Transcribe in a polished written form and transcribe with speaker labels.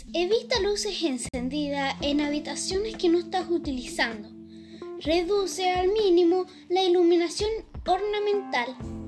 Speaker 1: Evita luces encendidas en habitaciones que no estás utilizando. Reduce al mínimo la iluminación ornamental.